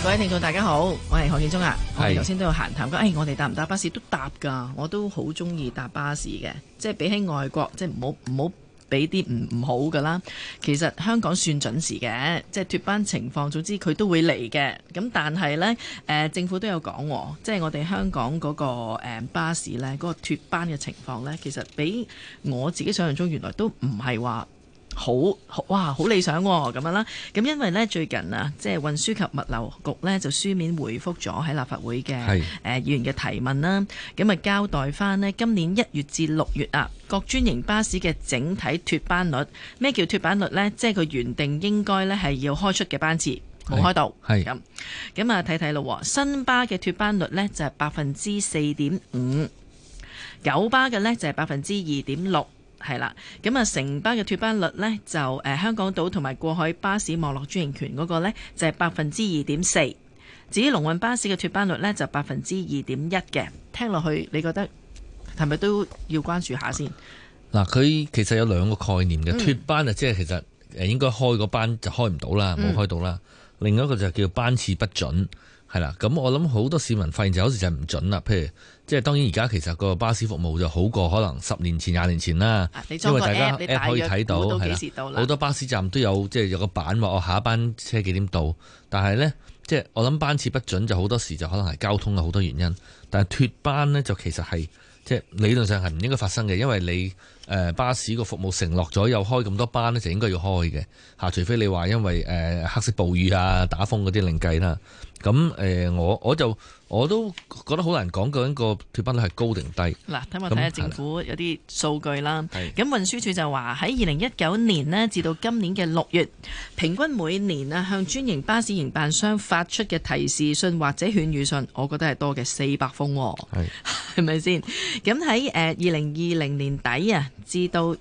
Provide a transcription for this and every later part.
各位聽眾大家好，我係何建中啊。我哋頭先都有閒談講，我哋搭唔搭巴士都搭㗎，我都好中意搭巴士嘅。即係比起外國，即係唔好俾啲唔好㗎啦。其實香港算準時嘅，即係脫班情況，總之佢都會嚟嘅。咁但係呢，政府都有講，即係我哋香港嗰個巴士呢，嗰個脫班嘅情況呢，其實比我自己想象中原來都唔係話好理想咁樣啦。咁因為呢，最近啊，即係運輸及物流局呢，就書面回覆咗喺立法會嘅議員嘅提問啦。咁啊交代翻呢，今年1月至6月啊，各專營巴士嘅整體脫班率。咩叫脫班率呢？即係佢原定應該呢係要開出嘅班次冇開到。咁啊睇睇咯，新巴嘅脫班率呢就係4.5%，九巴嘅呢就係2.6%。係啦，咁啊城巴嘅脫班率呢，就香港島同埋過海巴士網絡專營權嗰個呢，就係2.4%，至於龍運巴士嘅脫班率呢，就2.1%嘅。聽落去你覺得係咪都要關注下先？ 嗱，佢其實有兩個概念嘅，脫班啊，即係其實應該開個班就開唔到啦，冇開到啦。另一個就叫班次不準。係啦，咁我諗好多市民發現就有時就唔準啦。譬如即係當然而家其實個巴士服務就好過可能10年前、20年前啦，因為大家 app 可以睇到，係啦，好多巴士站都有即係有個版話我下一班車幾點到。但係呢，即係我諗班次不準就好多時就可能係交通嘅好多原因。但係脫班呢，就其實係即係理論上係唔應該發生嘅，因為你巴士個服務承諾咗有開咁多班呢，就應該要開嘅嚇，除非你話因為黑色暴雨啊、打風嗰啲另計啦。咁我都覺得好難講究竟個脫班率係高定低。 嗱，睇下政府有啲數據啦。咁運輸署就話喺2019年呢至到今年嘅6月，平均每年啊向專營巴士營辦商發出嘅提示信或者勸喻信，我覺得係多嘅400封，係咪先？咁喺2020年底啊至到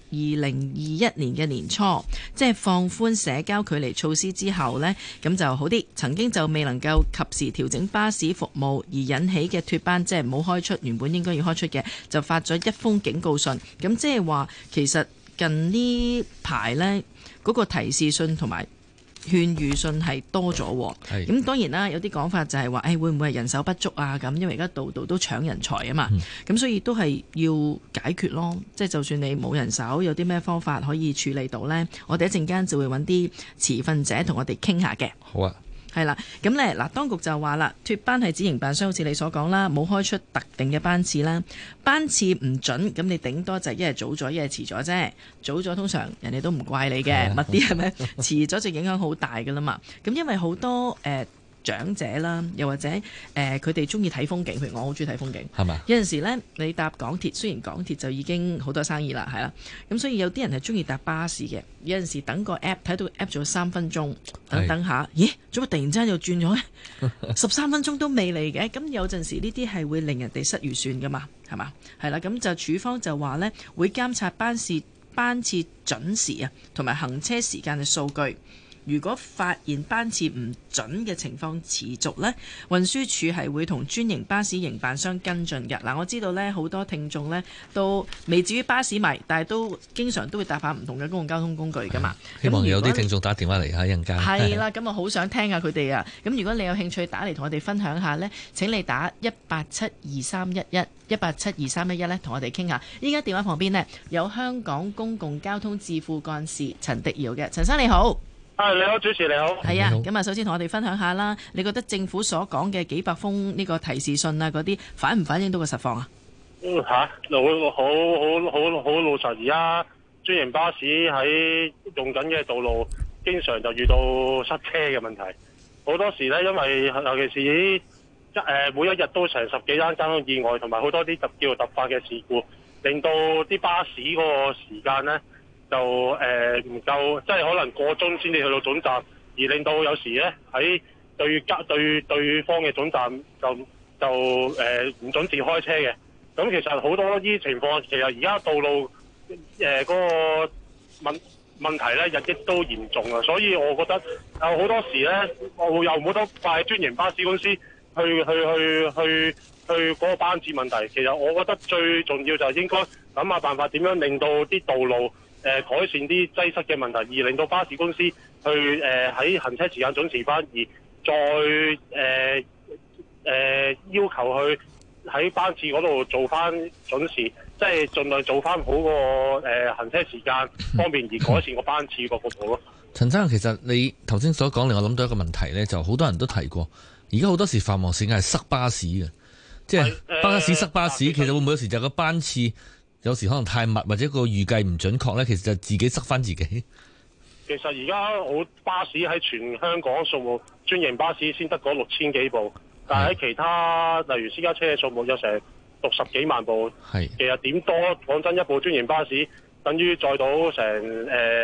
2021年嘅年初，即係放寬社交距離措施之後呢，咁就好啲。曾經就未能夠及時調整巴士服務而引起嘅脫班，即係冇開出原本應該要開出嘅，就發咗1封警告信。咁即係話其實近呢排呢，嗰個提示信同埋勸喻信係多咗。咁當然啦，有啲講法就係話會唔會係人手不足啊？咁因為而家度度都搶人才啊嘛。咁所以都係要解決咯。即係就算你冇人手，有啲咩方法可以處理到呢？我哋一陣間就會揾啲持份者同我哋傾下嘅。 好啊。 係啦，咁呢嗱，當局就話啦，脫班係指營辦商好似你所講啦，冇開出特定嘅班次啦，班次唔準，咁你頂多就一係早咗，一係遲咗啫。早咗通常人哋都唔怪你嘅，密啲係咪？遲咗就影響好大噶啦嘛。咁因為好多長者啦，又或者佢哋中意睇風景，譬如我好中意睇風景，係嘛？有陣時呢，你搭港鐵，雖然港鐵就已經好多生意啦，係啦，咁所以有啲人係中意搭巴士嘅。有陣時等個 app 睇到 app 咗3分鐘，等下，咦？做乜突然之間又轉咗呢？13分鐘都未嚟嘅，咁有陣時呢啲係會令人哋失預算噶嘛，係嘛？係啦，咁就署方就話呢，會監察班次準時啊，同埋行車時間嘅數據。如果發現班次唔準嘅情況持續呢，運輸署係會同專營巴士營辦商跟進嘅。嗱，我知道呢好多聽眾呢都未至於巴士迷，但係都經常都會搭下唔同嘅公共交通工具噶嘛。 希望有啲聽眾打電話嚟下一陣間。 係啦，咁我好想聽下佢哋啊。咁如果你有興趣打嚟同我哋分享下呢，請你打1872311呢，同我哋傾下。依家電話旁邊呢，有香港公共交通智庫幹事陳迪堯嘅，陳生你好。 你好，主持你好。 係啊，咁啊，首先同我哋分享下啦。你覺得政府所講嘅幾百封呢個提示信啊，嗰啲反唔反映到個實況啊？ 好老實，而家專營巴士喺用緊嘅道路，經常就遇到塞車嘅問題。好多時呢，因為尤其是每一日都成10幾單交通意外，同埋好多啲叫突發嘅事故，令到啲巴士嗰個時間呢就唔夠，即係可能過鐘先至去到總站，而令到有時咧喺對方嘅總站就唔準時開車嘅。咁其實好多呢啲情況，其實而家道路嗰個問題咧日益都嚴重啊，所以我覺得有好多時咧，我又冇得怪專營巴士公司去嗰個班次問題。其實我覺得最重要就係應該諗下辦法，點樣令到啲道路改善啲擠塞嘅問題，而令到巴士公司去喺行車時間準時翻，而再要求佢喺班次嗰度做翻準時，即係盡量做翻好個行車時間方面，而改善個班次個服務咯。 陳生，其實你頭先所講令我諗到一個問題呢，就好多人都提過，而家好多時繁忙時間係塞巴士嘅，即係巴士塞巴士，其實會唔會有時就個班次有時可能太密，或者個預計唔準確呢？其實就自己塞翻自己。 其實而家好巴士喺全香港數目，專營巴士先得嗰6000幾部，但係喺其他例如私家車嘅數目有成60幾萬部。 係其實點多講真，一部專營巴士等於載到成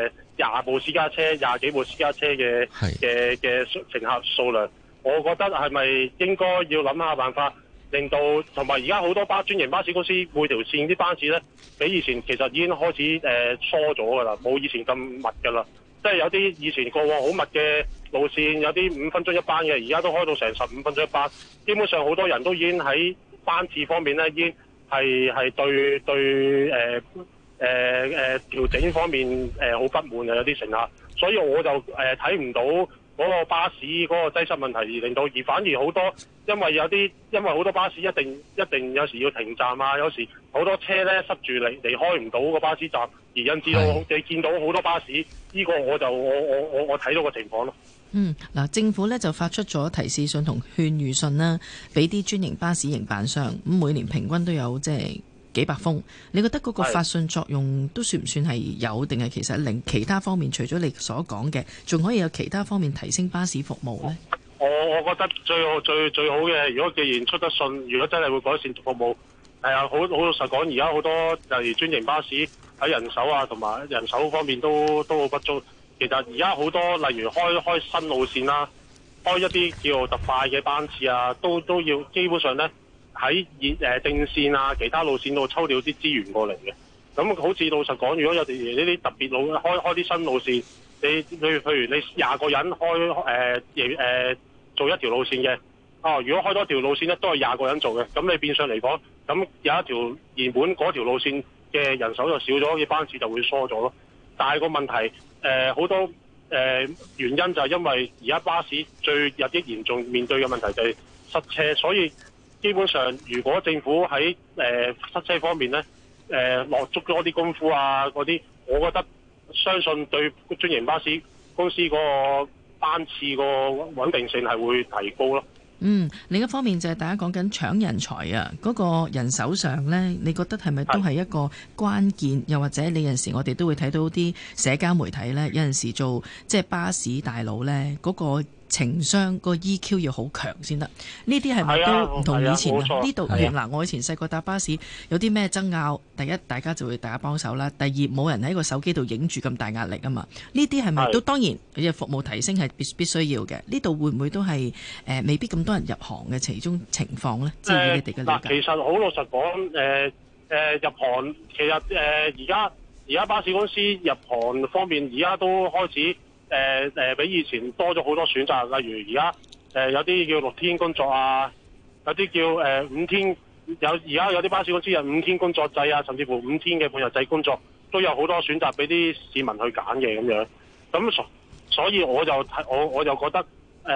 20部私家車、20幾部私家車嘅乘客數量。我覺得係咪應該要諗下辦法，令到同埋而家好多專營巴士公司每條線啲班次呢，比以前其實已經開始疏咗㗎啦，冇以前咁密㗎啦。即係有啲以前過往好密嘅路線，有啲5分鐘一班嘅，而家都開到成15分鐘一班。基本上好多人都已經喺班次方面呢，已經係對調整方面好不滿嘅有啲乘客，所以我就睇唔到嗰個巴士嗰個擠塞問題，而令到反而好多因為好多巴士一定有時要停站啊，有時好多車咧塞住離開唔到個巴士站，而引致到你見到好多巴士，呢個我睇到個情況咯。 嗱，政府呢就發出咗提示信同勸喻信啦，俾啲專營巴士營辦商，咁每年平均都有即係幾百封。你覺得嗰個發信作用都算唔算係有，定係其實令其他方面除咗你所講嘅，仲可以有其他方面提升巴士服務呢？ 我覺得最好嘅，如果既然出得信，如果真係會改善服務，好老實講，而家好多例如專營巴士喺人手啊同埋人手方面都好不足。其實而家好多例如開新路線啦，開一啲叫做特快嘅班次啊，都要基本上呢喺正線啊其他路線度抽調啲資源過嚟嘅。咁好似老實講，如果有呢啲特別路開啲新路線，譬如你20個人做一條路線嘅，如果開多條路線呢都係20個人做嘅，咁你變相嚟講，咁有一條原本嗰條路線嘅人手就少咗，嘅班次就會疏咗咯。但係個問題好多原因就係因為而家巴士最日益嚴重面對嘅問題就係塞車，所以基本上如果政府喺塞車方面呢落足多啲功夫啊嗰啲，我覺得相信對專營巴士公司嗰個班次個穩定性係會提高咯。 另一方面就係大家講緊搶人才啊，嗰個人手上呢，你覺得係咪都係一個關鍵？又或者你有陣時我哋都會睇到啲社交媒體呢，有陣時做即係巴士大佬呢，嗰個情商個 EQ 要好強先得。呢啲係咪都唔同以前啊？呢度嗱，我以前細個搭巴士有啲咩爭拗，第一大家就會大家幫手啦，第二冇人喺個手機度影住咁大壓力啊嘛。呢啲係咪都當然嘅服務提升係必須要嘅？呢度會唔會都係未必咁多人入行嘅其中情況呢？至於你哋嘅理解。 其實好老實講，入行其實而家巴士公司入行方面，而家都開始比以前多咗好多選擇。例如而家有啲叫6天工作啊，有啲叫5天，而家有啲巴士公司有5天工作制啊，甚至乎5天嘅半日制工作，都有好多選擇俾啲市民去揀嘅咁樣。咁所以我就覺得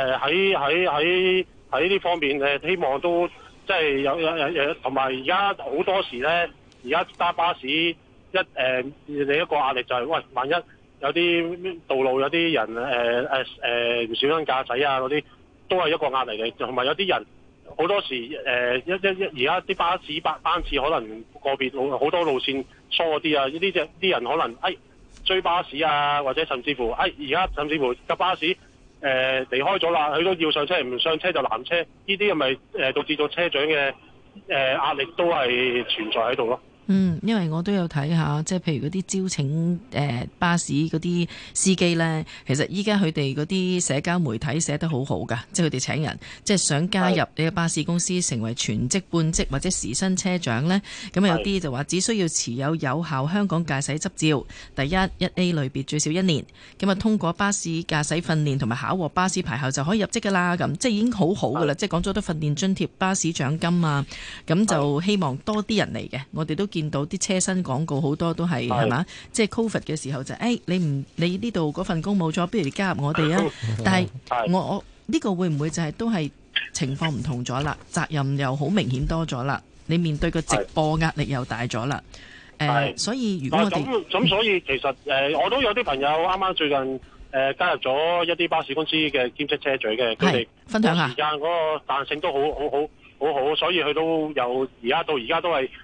喺呢方面希望都即係有同埋而家好多時呢，而家揸巴士另一個壓力就係喂，萬一有啲道路有啲人唔小心駕駛啊嗰啲，都係一個壓力嚟。同埋有啲人好多時而家啲巴士班次可能個別好多路線疏啲啊，呢啲人可能追巴士啊，或者甚至乎而家甚至乎架巴士離開咗啦，佢都要上車，唔上車就攔車，呢啲係咪導致到車長嘅壓力都係存在喺度咯？ 因為我都有睇下，即係譬如嗰啲招請巴士嗰啲司機呢，其實依家佢哋嗰啲社交媒體寫得好好㗎，即係佢哋請人，即係想加入呢個巴士公司成為全職、半職或者時薪車長呢。咁有啲就話只需要持有有效香港駕駛執照，第1A 類別最少1年，咁啊通過巴士駕駛訓練同埋考獲巴士牌後就可以入職㗎啦。咁即係已經好好㗎啦，即係講咗都訓練津貼、巴士獎金啊，咁就希望多啲人嚟嘅。我哋都見到啲車身廣告好多都係嘛，即係 Covid 嘅時候就你呢度嗰份工冇咗，不如你加入我哋啊！但係呢個會唔會就係都係情況唔同咗啦？責任又好明顯多咗啦，你面對個直播壓力又大咗啦。所以如果我哋咁所以其實我都有啲朋友啱啱最近加入咗一啲巴士公司嘅兼職車長嘅，佢哋分享下時間嗰個彈性都好，所以佢都有而家到而家都係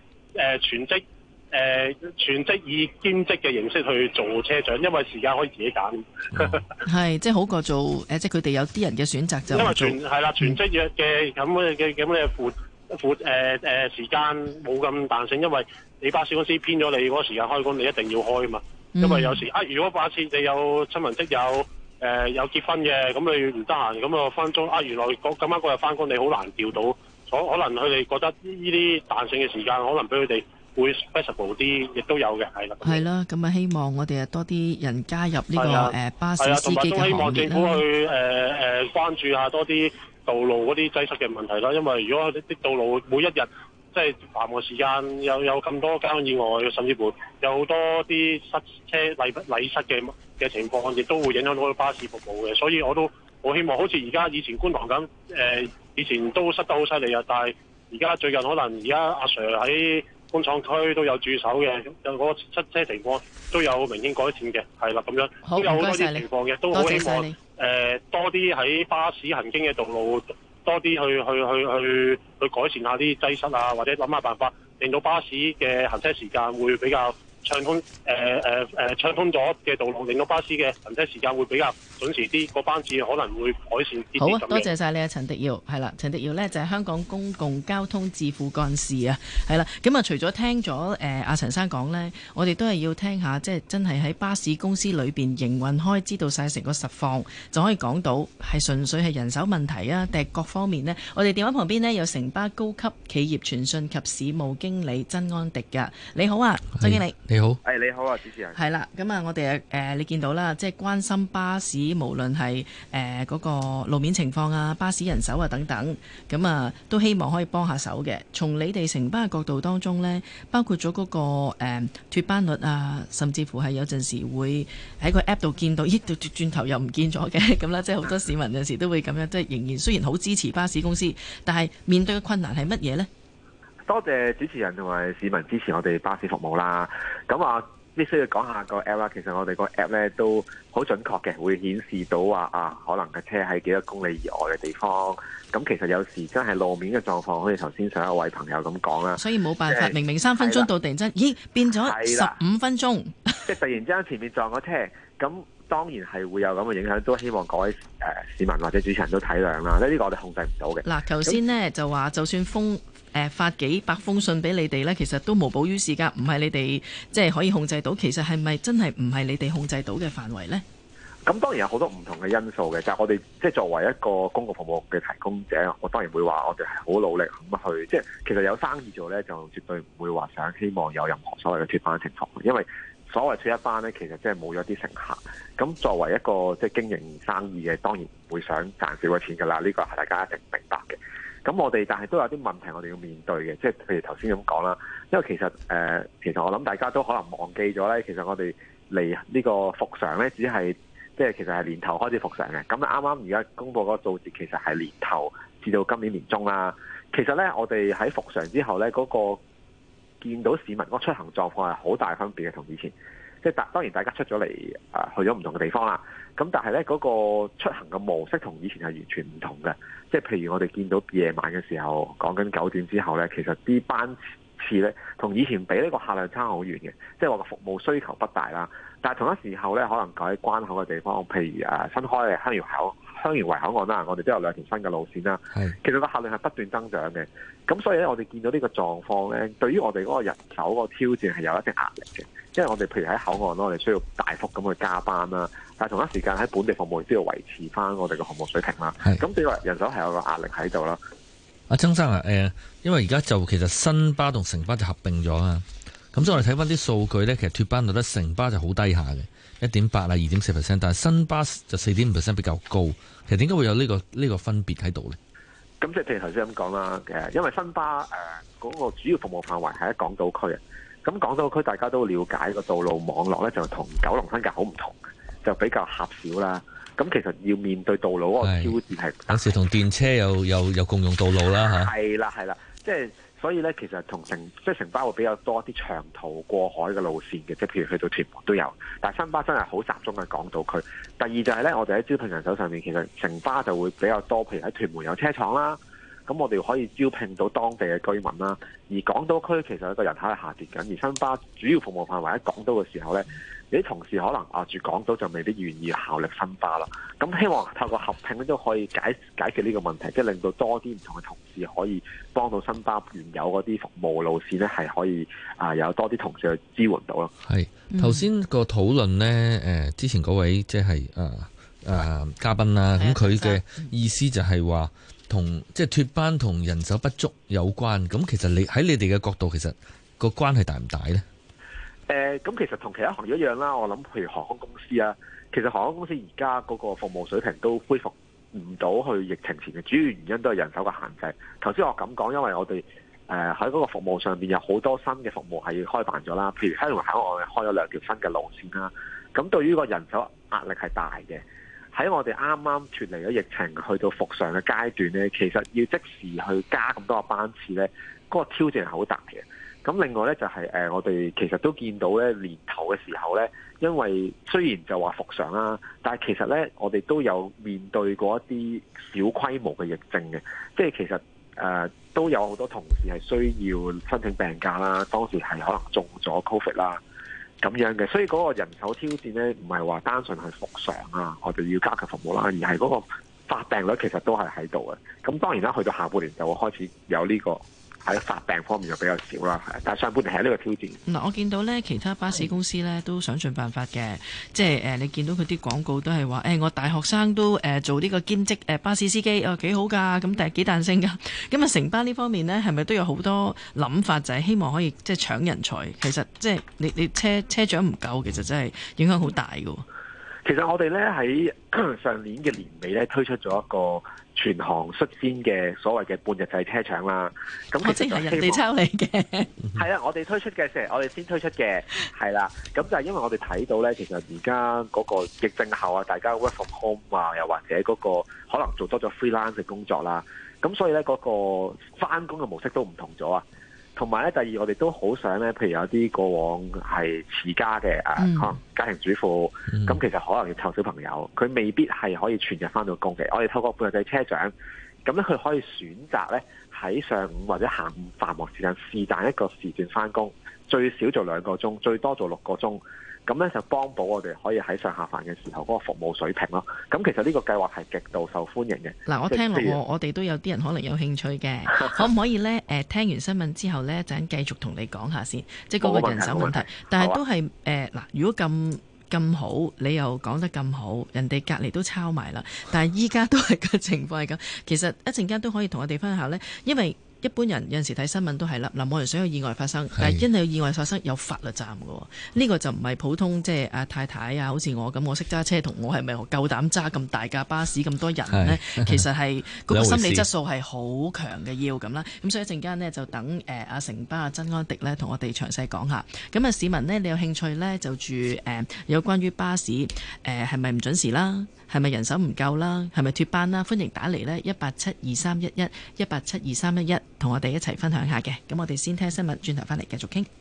全職以兼職嘅形式去做車長，因為時間可以自己揀。 係即係好過做即係佢哋有啲人嘅選擇就因為全職嘅咁嘅時間冇咁彈性，因為你巴士公司編咗你嗰個時間開工，你一定要開嘛。因為有時如果假設你有親朋戚友有結婚嘅，咁你唔得閒，咁啊分鐘原來咁啱嗰日翻工，你好難調到，可能佢哋覺得呢啲彈性嘅時間，可能俾佢哋會 flexible 啲，亦都有嘅，係啦。 係啦，咁啊希望我哋多啲人加入呢個巴士司機嘅行列啦。同埋都希望政府去關注下多啲道路嗰啲擠塞嘅問題啦。因為如果啲道路每一日即係繁忙時間有咁多交通意外，甚至乎有好多啲塞車禮塞嘅情況，亦都會影響到巴士服務嘅。所以我都好希望，好似而家以前觀塘咁，以前都塞得好犀利啊，但係而家最近可能而家阿 Sir 喺工廠區都有駐守嘅，有嗰個塞車情況都有明顯改善嘅，係啦咁樣，都有好多啲情況嘅，都好希望多啲喺巴士行經嘅道路多啲去改善下啲擠塞啊，或者諗下辦法令到巴士嘅行車時間會比較暢通，暢通咗嘅道路，令到巴士嘅行車時間會比較準時啲，個班次可能會改善啲。 好啊，多謝晒你啊，陳迪耀。係啦，陳迪耀呢就係香港公共交通智庫幹事啊。係啦，咁啊除咗聽咗阿陳生講呢，我哋都係要聽下，即係真係喺巴士公司裏邊營運開，知道晒成個實況，就可以講到係純粹係人手問題啊，定係各方面呢？我哋電話旁邊呢，有城巴高級企業傳訊及市務經理曾安迪㗎。你好啊，曾經理。 你好， 你好啊，主持人。 係啦，咁啊，我哋你見到啦，即係關心巴士，無論係嗰個路面情況啊、巴士人手啊等等，咁啊都希望可以幫下手嘅。從你哋城巴嘅角度當中呢，包括咗嗰個脫班率啊，甚至乎係有陣時會喺個 app 度見到，咦，轉頭又唔見咗嘅，咁啦，即係好多市民有時都會咁樣，即係仍然雖然好支持巴士公司，但係面對嘅困難係乜嘢呢？ 多謝主持人同埋市民支持我哋巴士服務啦。咁必須要講下個 app 啦。其實我哋個 app 咧都好準確嘅，會顯示到話可能嘅車喺幾多公里以外嘅地方。咁其實有時真係路面嘅狀況，好似頭先上一位朋友咁講啦。 所以冇辦法，明明3分鐘到突然間，咦變咗15分鐘， 即係突然之間前面撞咗車，咁當然係會有咁嘅影響。都希望各位市民或者主持人都體諒啦。呢個我哋控制唔到嘅。 嗱，頭先呢就話就算發幾百封信俾你哋呢，其實都無補於事㗎，唔係你哋即係可以控制到。其實係咪真係唔係你哋控制到嘅範圍呢？ 咁當然有好多唔同嘅因素嘅，就係我哋即係作為一個公共服務嘅提供者，我當然會話我哋係好努力咁去，即係其實有生意做呢，就絕對唔會話想希望有任何所謂嘅脫班情況，因為所謂脫一班呢，其實即係冇咗啲乘客。咁作為一個即係經營生意嘅，當然唔會想賺少個錢㗎啦，呢個係大家一定明白嘅。咁我哋但係都有啲問題我哋要面對嘅，即係譬如頭先咁講啦，因為其實我諗大家都可能忘記咗咧，其實我哋嚟呢個復常咧，只係即係其實係年頭開始復常嘅。咁啱啱而家公佈嗰個數字其實係年頭至到今年年中啦。其實咧，我哋喺復常之後咧，嗰個見到市民嗰個出行狀況係好大分別嘅，同以前。即係當然大家出咗嚟去咗唔同嘅地方啦。咁但係咧，嗰個出行嘅模式同以前係完全唔同嘅。即係譬如我哋見到夜晚嘅時候，講緊9點之後咧，其實啲班次咧同以前比呢個客量差好遠嘅。即係話個服務需求不大啦。但係同一時候咧，可能喺關口嘅地方，譬如新開嘅香園圍口岸啦，我哋都有2條新嘅路線啦。其實個客量係不斷增長嘅。咁所以咧，我哋見到呢個狀況咧，對於我哋嗰個人手個挑戰係有一定壓力嘅。因為我哋譬如喺口岸咯，我哋需要大幅咁去加班啦，但係同一時間喺本地服務亦都要維持翻我哋嘅服務水平啦。咁對話人手係有個壓力喺度啦。 阿曾生啊，因為而家就其實新巴同城巴就合併咗啊，咁所以我哋睇翻啲數據咧，其實脫班率咧城巴就好低下嘅，1.8啊2.4%，但係新巴就4.5% 比較高。其實點解會有呢個分別喺度咧？ 咁即係譬如頭先咁講啦，因為新巴嗰個主要服務範圍係喺港島區啊。咁港島區大家都了解個道路網絡咧，就同九龍新界好唔同嘅，就比較狹小啦。 咁其實要面對道路嗰個挑戰係有時同電車有共用道路啦嚇。 係啦，即係所以咧，其實城巴會比較多啲長途過海嘅路線嘅，即係譬如去到屯門都有。但係新巴真係好集中喺港島區。第二就係咧，我哋喺招聘人手上面，其實城巴就會比較多，譬如喺屯門有車廠啦。咁我哋可以招聘到當地嘅居民啦，而港島區其實個人口係下跌緊，而新巴主要服務範圍喺港島嘅時候呢，有啲同事可能住港島就未必願意效力新巴啦。咁希望透過合併都可以解決呢個問題，即係令到多啲唔同嘅同事可以幫到新巴原有嗰啲服務路線呢，係可以有多啲同事去支援到咯。 係頭先個討論呢，之前嗰位即係嘉賓啦，咁佢嘅意思就係話，即係脫班同人手不足有關，咁其實喺你哋嘅角度，其實個關係大唔大呢？ 咁其實同其他行業一樣啦。我諗譬如航空公司啊，其實航空公司而家嗰個服務水平都恢復唔到去疫情前嘅，主要原因都係人手嘅限制。頭先我咁講，因為我哋喺嗰個服務上邊有好多新嘅服務係開辦咗啦，譬如香港口岸開咗2條新嘅路線啦。咁對於個人手壓力係大嘅。喺我哋啱啱脫離咗疫情去到復常嘅階段呢，其實要即時去加咁多個班次呢，嗰個挑戰係好大嘅。咁另外呢，就係我哋其實都見到呢年頭嘅時候呢，因為雖然就話復常啦，但係其實呢，我哋都有面對過一啲小規模嘅疫症嘅，即係其實都有好多同事係需要申請病假啦，當時係可能中咗 Covid 啦。咁樣嘅，所以嗰個人手挑戰呢，唔係話單純係復常啊，我哋要加強服務啦，而係嗰個發病率其實都係喺度嘅。咁當然啦，去到下半年就會開始有呢個喺發病方面就比較少啦。但係上半年係呢個挑戰。 嗱，我見到呢其他巴士公司呢都想盡辦法嘅，即係你見到佢啲廣告都係話，我大學生都做呢個兼職巴士司機，幾好㗎，咁但係幾彈性㗎。咁啊，城巴呢方面呢，係咪都有好多諗法，就係希望可以即係搶人才？其實即係你車長唔夠，其實真係影響好大㗎。 其實我哋呢喺上年嘅年尾呢推出咗一個全行率先嘅所謂嘅半日制車廠啦。咁即係人哋抄你嘅。 係啦，我哋推出嘅我哋先推出嘅，係啦。咁就係因為我哋睇到呢，其實而家嗰個疫症後啊，大家 work from home 啊，又或者嗰個可能做多咗 freelance 嘅工作啦。咁所以呢，嗰個返工嘅模式都唔同咗啊。同埋咧，第二我哋都好想咧，譬如有啲過往係持家嘅可能家庭主婦，咁其實可能要湊小朋友，佢未必係可以全日返到工嘅。我哋透過半日制車長，咁咧佢可以選擇咧喺上午或者下午繁忙時間是但一個時段返工，最少做2個鐘，最多做6個鐘。咁咧就幫補我哋可以喺上下飯嘅時候嗰個服務水平咯。咁其實呢個計劃係極度受歡迎嘅。 嗱，我聽落我哋都有啲人可能有興趣嘅，可唔可以呢？聽完新聞之後呢，陣繼續同你講下先，即係嗰個人手問題。但係都係嗱，如果咁好，你又講得咁好，人哋隔離都抄埋啦。但係依家都係個情況係咁。其實一陣間都可以同我哋分享下呢，因為一般人有陣時睇新聞都係啦，嗱，冇人想有意外發生，但係因為有意外發生有法律責任嘅，呢個就唔係普通即係阿太太啊，好似我咁，我識揸車同我係咪夠膽揸咁大架巴士咁多人呢？其實係嗰個心理質素係好強嘅要咁啦。咁所以一陣間呢，就等阿城巴曾安迪呢同我哋詳細講下。咁啊市民呢，你有興趣呢，就住有關於巴士係咪唔準時啦？係咪人手唔夠啦？係咪脫班啦？歡迎打嚟呢1872311 1872311，同我哋一齊分享下嘅。咁我哋先聽新聞，轉頭翻嚟繼續傾。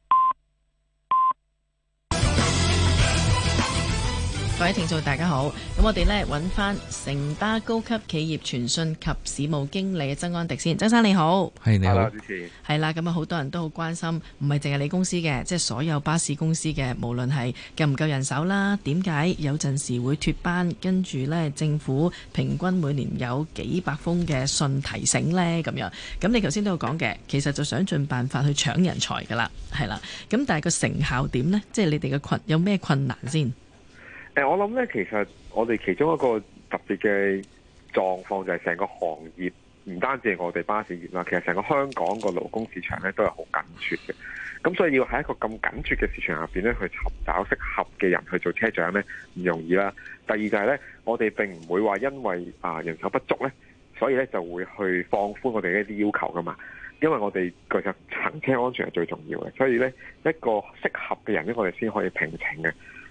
各位聽眾大家好，咁我哋呢揾翻城巴高級企業傳訊及市務經理曾安迪先。曾生你好。 係你好， 主持。 係啦，咁啊好多人都好關心，唔係淨係你公司嘅，即係所有巴士公司嘅，無論係夠唔夠人手啦，點解有陣時會脫班，跟住呢政府平均每年有幾百封嘅信提醒呢咁樣。咁你頭先都有講嘅，其實就想盡辦法去搶人才㗎啦，係啦。咁但係個成效點呢？即係你哋嘅有咩困難先？ 我諗咧，其實我哋其中一個特別嘅狀況就係成個行業，唔單止係我哋巴士業啦，其實成個香港個勞工市場咧都係好緊缺嘅。咁所以要喺一個咁緊缺嘅市場入邊咧，去尋找適合嘅人去做車長咧，唔容易啦。第二就係咧，我哋並唔會話因為人手不足咧，所以咧就會去放寬我哋一啲要求噶嘛。因為我哋其實行車安全係最重要嘅，所以咧一個適合嘅人咧，我哋先可以聘請嘅。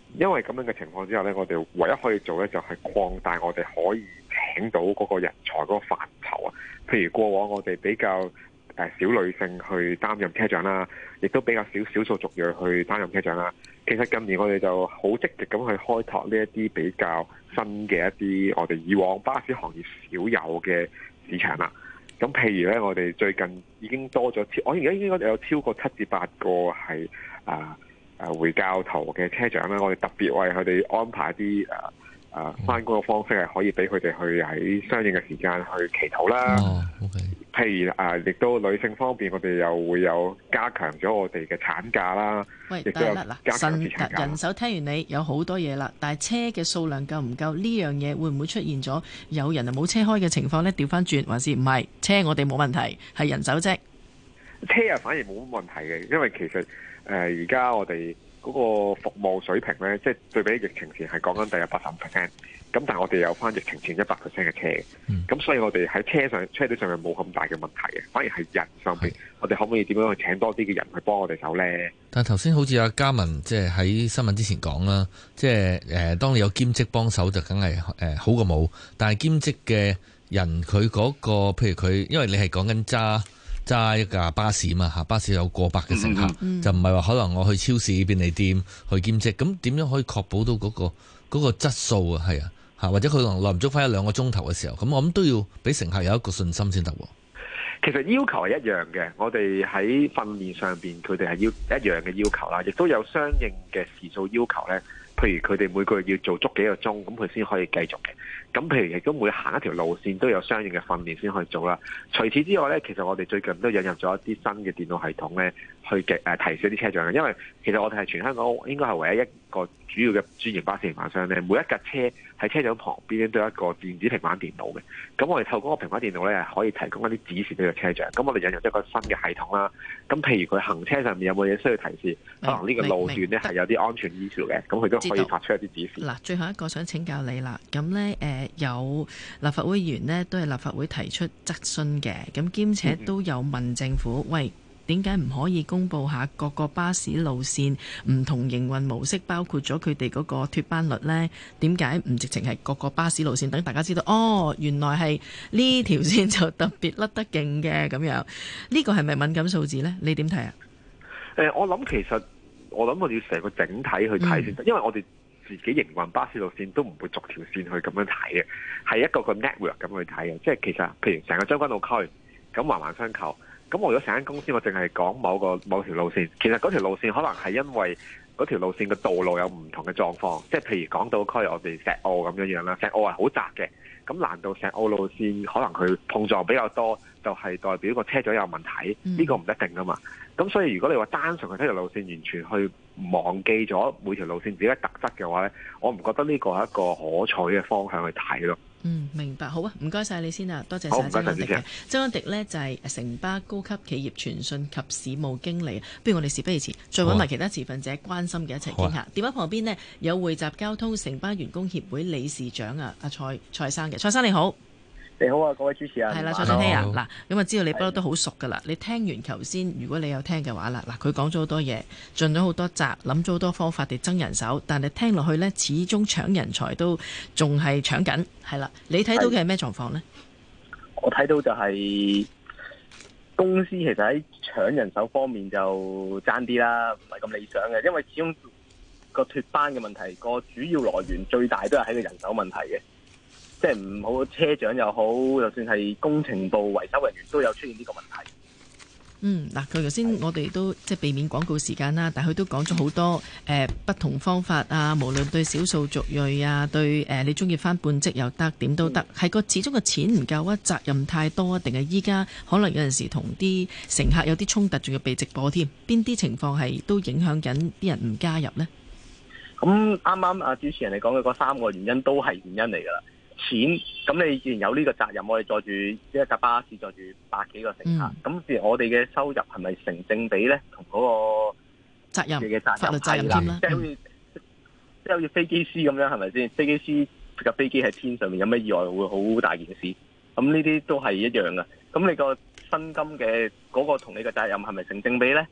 因為咁樣嘅情況之下咧，我哋唯一可以做咧就係擴大我哋可以請到嗰個人才嗰個範疇啊。譬如過往我哋比較少女性去擔任車長啦，亦都比較少數族裔去擔任車長啦。其實近年我哋就好積極咁去開拓呢一啲比較新嘅一啲我哋以往巴士行業少有嘅市場啦。咁譬如咧，我哋最近已經多咗我而家應該有超過7至8個係回教徒嘅車長啦。我哋特別為佢哋安排啲返工嘅方式係可以俾佢哋去喺相應嘅時間去祈禱啦。 OK。 譬如亦都女性方面，我哋又會有加強咗我哋嘅產假啦。 喂， 亦都有加強啲產假。 人手聽完你有好多嘢啦，但係車嘅數量夠唔夠呢樣嘢會唔會出現咗有人冇車開嘅情況呢？調翻轉還是唔係車我哋冇問題，係人手啫。 車反而冇乜問題嘅，因為其實而家我哋嗰個服務水平呢，即係對比疫情前係講緊大約85%，咁但係我哋有翻疫情前100%嘅車嘅，咁所以我哋喺車隊上面冇咁大嘅問題嘅，反而係人上邊，我哋可唔可以點樣去請多啲嘅人去幫我哋手呢？ 但係頭先好似阿嘉文即係喺新聞之前講啦，即係當你有兼職幫手就梗係好過冇，但係兼職嘅人佢嗰個譬如佢，因為你係講緊揸一架巴士嘛嚇，巴士有過百嘅乘客，就唔係話可能我去超市便利店去兼職，咁點樣可以確保到嗰個質素啊？係啊嚇，或者佢可能耐唔足翻1-2個鐘頭嘅時候，咁我諗都要俾乘客有一個信心先得喎。 其實要求係一樣嘅，我哋喺訓練上邊佢哋係要一樣嘅要求啦，亦都有相應嘅時數要求咧。譬如佢哋每個月要做足幾個鐘，咁佢先可以繼續嘅。咁譬如亦都每行一條路線都有相應嘅訓練先可以做啦。除此之外咧，其實我哋最近都引入咗一啲新嘅電腦系統咧，去提示一啲車長嘅。因為其實我哋係全香港應該係唯一一個主要嘅專營巴士營辦商咧，每一架車喺車長旁邊咧都有一個電子平板電腦嘅。咁我哋透過個平板電腦咧，係可以提供一啲指示俾個車長。咁我哋引入一個新嘅系統啦。咁譬如佢行車上面有冇嘢需要提示，可能呢個路段咧係有啲安全issue嘅，咁佢都可以發出一啲指示。 嗱，最後一個想請教你啦。咁呢，有立法會議員呢都係立法會提出質詢嘅，咁兼且都有問政府，喂，點解唔可以公佈下各個巴士路線唔同營運模式，包括咗佢哋嗰個脫班率呢？點解唔直情係各個巴士路線，等大家知道，哦，原來係呢條線就特別甩得勁嘅咁樣？呢個係咪敏感數字呢？你點睇啊？ 我諗我哋要成個整體去睇先得，因為我哋自己營運巴士路線都唔會逐條線去咁樣睇嘅，係一個 network 咁去睇嘅。即係其實譬如成個將軍澳區咁環環相扣，咁我如果成間公司我淨係講某條路線，其實嗰條路線可能係因為嗰條路線嘅道路有唔同嘅狀況，即係譬如港島區我哋石澳咁樣啦，石澳係好窄嘅，咁難道石澳路線可能佢碰撞比較多，就係代表個車長有問題？呢個唔一定噶嘛。咁所以如果你話單純去睇條路線，完全去忘記咗每條路線自己嘅特質嘅話呢，我唔覺得呢個係一個可取嘅方向去睇咯。 明白。好啊，唔該晒你先啊，多謝晒周安迪嘅。周安迪呢就係城巴高級企業傳訊及市務經理。不如我哋事不宜遲，再揾埋其他持份者關心嘅一齊傾下。電話旁邊呢，有匯集交通城巴員工協會理事長啊，阿蔡生嘅。蔡生你好。 你好啊，各位主持人。 係啦，蔡生聽啊，嗱，咁啊知道你不嬲都好熟噶啦。你聽完頭先，如果你有聽嘅話啦，嗱，佢講咗好多嘢，盡咗好多責，諗咗好多方法嚟增人手，但係聽落去呢，始終搶人才都仲係搶緊，係啦。你睇到嘅係咩狀況呢？ 我睇到就係公司其實喺搶人手方面就爭啲啦，唔係咁理想嘅，因為始終個脫班嘅問題，個主要來源最大都係喺個人手問題嘅。即係唔好車長又好，就算係工程部維修人員都有出現呢個問題。 嗱，佢頭先我哋都即係避免廣告時間啦，但係佢都講咗好多不同方法啊，無論對少數族裔啊，對你中意返半職又得，點都得，係個始終個錢唔夠啊，責任太多啊，定係依家可能有陣時同啲乘客有啲衝突，仲要被直播添，邊啲情況係都影響緊啲人唔加入呢？ 咁啱啱啊主持人你講嘅嗰3個原因都係原因嚟㗎啦。錢，咁你既然有呢個責任，我哋載住一架巴士載住100幾個乘客，咁自然我哋嘅收入係咪成正比咧？同嗰個責任嘅責任責任添啦， 即係好似飛機師咁樣，係咪先？飛機師架飛機喺天上面有咩意外會好大件事，咁呢啲都係一樣㗎。咁你個薪金嘅嗰個同你嘅責任係咪成正比咧？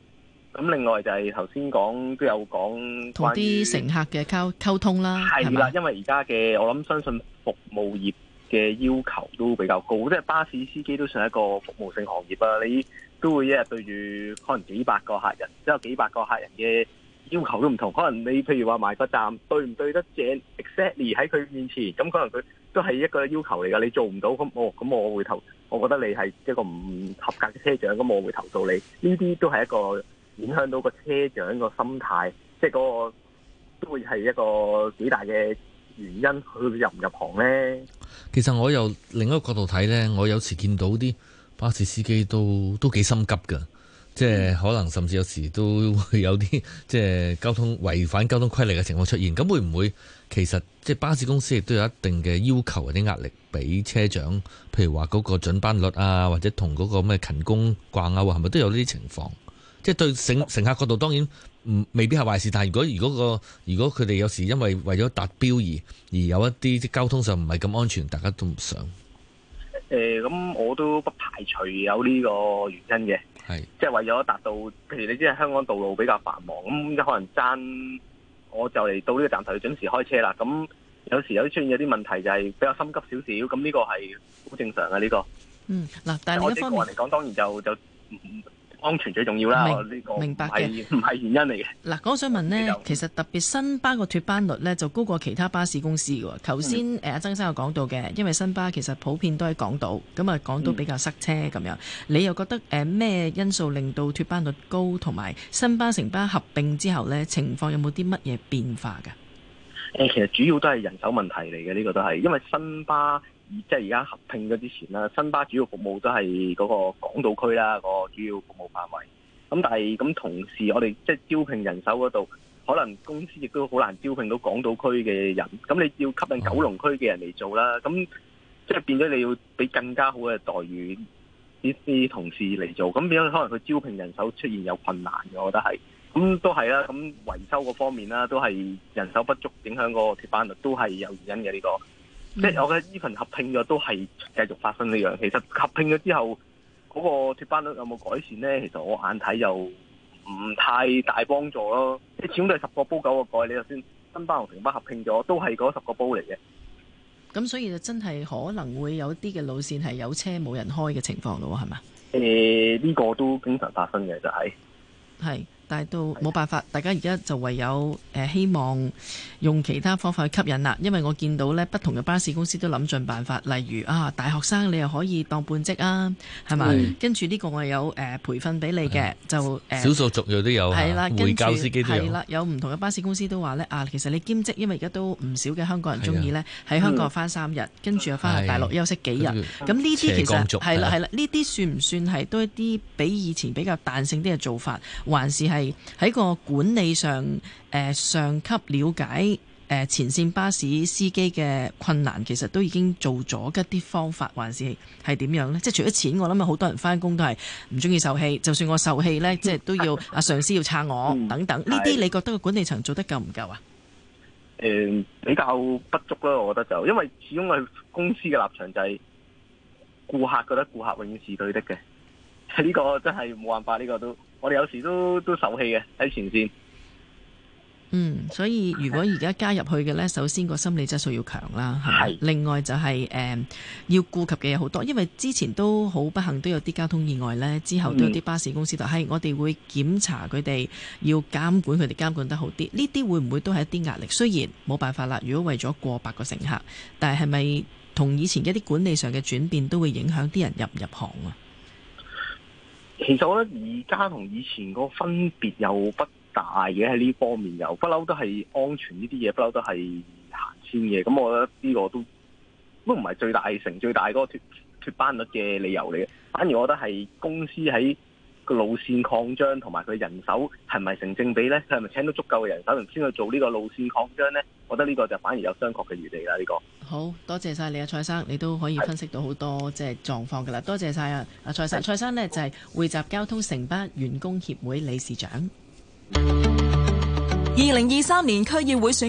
咁另外就係頭先講都有講同啲乘客嘅溝通啦， 係啦，因為而家嘅我諗相信服務業嘅要求都比較高，即係巴士司機都算係一個服務性行業啊，你都會一日對住可能幾百個客人，之後幾百個客人嘅要求都唔同，可能你譬如話埋個站對唔對得正 exactly 喺佢面前，咁可能佢都係一個要求嚟㗎，你做唔到咁我會我覺得你係一個唔合格嘅車長，咁我會投訴你。呢啲都係一個影響到個車長個心態，即係嗰個都會係一個幾大嘅原因，佢入唔入行呢？ 其實我由另一個角度睇呢，我有時見到啲巴士司機都幾心急㗎，即係可能甚至有時都會有啲即係違反交通規例嘅情況出現。咁會唔會其實即係巴士公司亦都有一定嘅要求或者壓力俾車長？譬如話嗰個準班率啊，或者同嗰個咩勤工掛鈎啊，係咪都有呢啲情況？即係對乘客角度當然未必係壞事，但係如果佢哋有時因為咗達標而有一啲交通上唔係咁安全，大家都唔想。 咁我都不排除有呢個原因嘅，係即係為咗達到，譬如你知係香港道路比較繁忙，咁可能爭我就嚟到呢個站頭要準時開車啦，咁有時有啲出現有啲問題就係比較心急少少，咁呢個係好正常嘅呢個。 嗱，但係另一方面我個人嚟講，當然就安全最重要啦，呢個明白嘅， 唔係原因嚟嘅。 嗱，我想問呢，其實特別新巴個脫班率呢，就高過其他巴士公司嘅喎。頭先阿曾生有講到嘅，因為新巴其實普遍都喺港島，咁啊港島比較塞車咁樣。你又覺得咩因素令到脫班率高，同埋新巴城巴合併之後呢，情況有冇啲乜嘢變化㗎？ 其實主要都係人手問題嚟嘅，呢個都係因為新巴。即係而家合併咗之前啦，新巴主要服務都係嗰個港島區啦，個主要服務範圍。咁但係咁同時，我哋即係招聘人手嗰度，可能公司亦都好難招聘到港島區嘅人。咁你要吸引九龍區嘅人嚟做啦，咁即係變咗你要俾更加好嘅待遇呢啲同事嚟做。咁變咗可能佢招聘人手出現有困難嘅，我覺得係。咁都係啦，咁維修嗰方面啦，都係人手不足影響個脫班率，都係有原因嘅呢個。即係我覺得呢份合併咗都係繼續發生呢樣。其實合併咗之後，嗰個脫班率有冇改善呢？其實我眼睇又唔太大幫助咯。即係始終都係10個煲9個蓋。你就算新巴同城巴合併咗，都係嗰10個煲嚟嘅。 咁所以就真係可能會有啲嘅路線係有車冇人開嘅情況咯，係嘛？ 呢個都經常發生嘅，就係。 但係都冇辦法，大家而家就唯有希望用其他方法去吸引啦。因為我見到呢不同嘅巴士公司都諗盡辦法，例如大學生你又可以當半職啊，係咪？跟住呢個我有培訓俾你嘅，就少數族裔都有，係啦，會教司機都有。係啦， 有唔同嘅巴士公司都話呢其實你兼職，因為而家都唔少嘅香港人中意呢喺香港翻3日，跟住又翻去大陸休息幾日。咁呢啲其實係啦，呢啲算唔算係都一啲比以前比較彈性啲嘅做法，還是係喺個管理上，上級了解前線巴士司機嘅困難，其實都已經做咗一啲方法，還是係點樣呢？即係除咗錢，我諗好多人翻工都係唔中意受氣，就算我受氣呢，即係都要上司要撐我等等。呢啲你覺得個管理層做得夠唔夠啊？ 比較不足啦，我覺得就因為始終係公司嘅立場就係顧客覺得顧客永遠是對的嘅，呢個真係冇辦法，呢個都。我哋有時都受氣嘅喺前線。 所以如果而家加入去嘅呢，首先個心理質素要強啦，係。另外就係要顧及嘅嘢好多，因為之前都好不幸都有啲交通意外呢，之後都有啲巴士公司就係我哋會檢查佢哋，要監管佢哋監管得好啲。呢啲會唔會都係一啲壓力？雖然冇辦法啦，如果為咗過百個乘客，但係咪同以前嘅一啲管理上嘅轉變都會影響啲人入唔入行啊？ 其實我覺得而家同以前個分別又不大嘅，喺呢方面又不嬲都係安全呢啲嘢，不嬲都係行先嘅。咁我覺得呢個都唔係最大嗰個脫班率嘅理由嚟嘅。反而我覺得係公司喺個路線擴張同埋佢人手係咪成正比呢？佢係咪請到足夠嘅人手先去做呢個路線擴張呢？我覺得呢個就反而有商榷嘅餘地啦。呢個好多謝晒你啊，蔡生，你都可以分析到好多即係狀況噶啦。多謝晒啊，蔡生。蔡生呢就係匯集交通城巴員工協會理事長。 2023年區議會選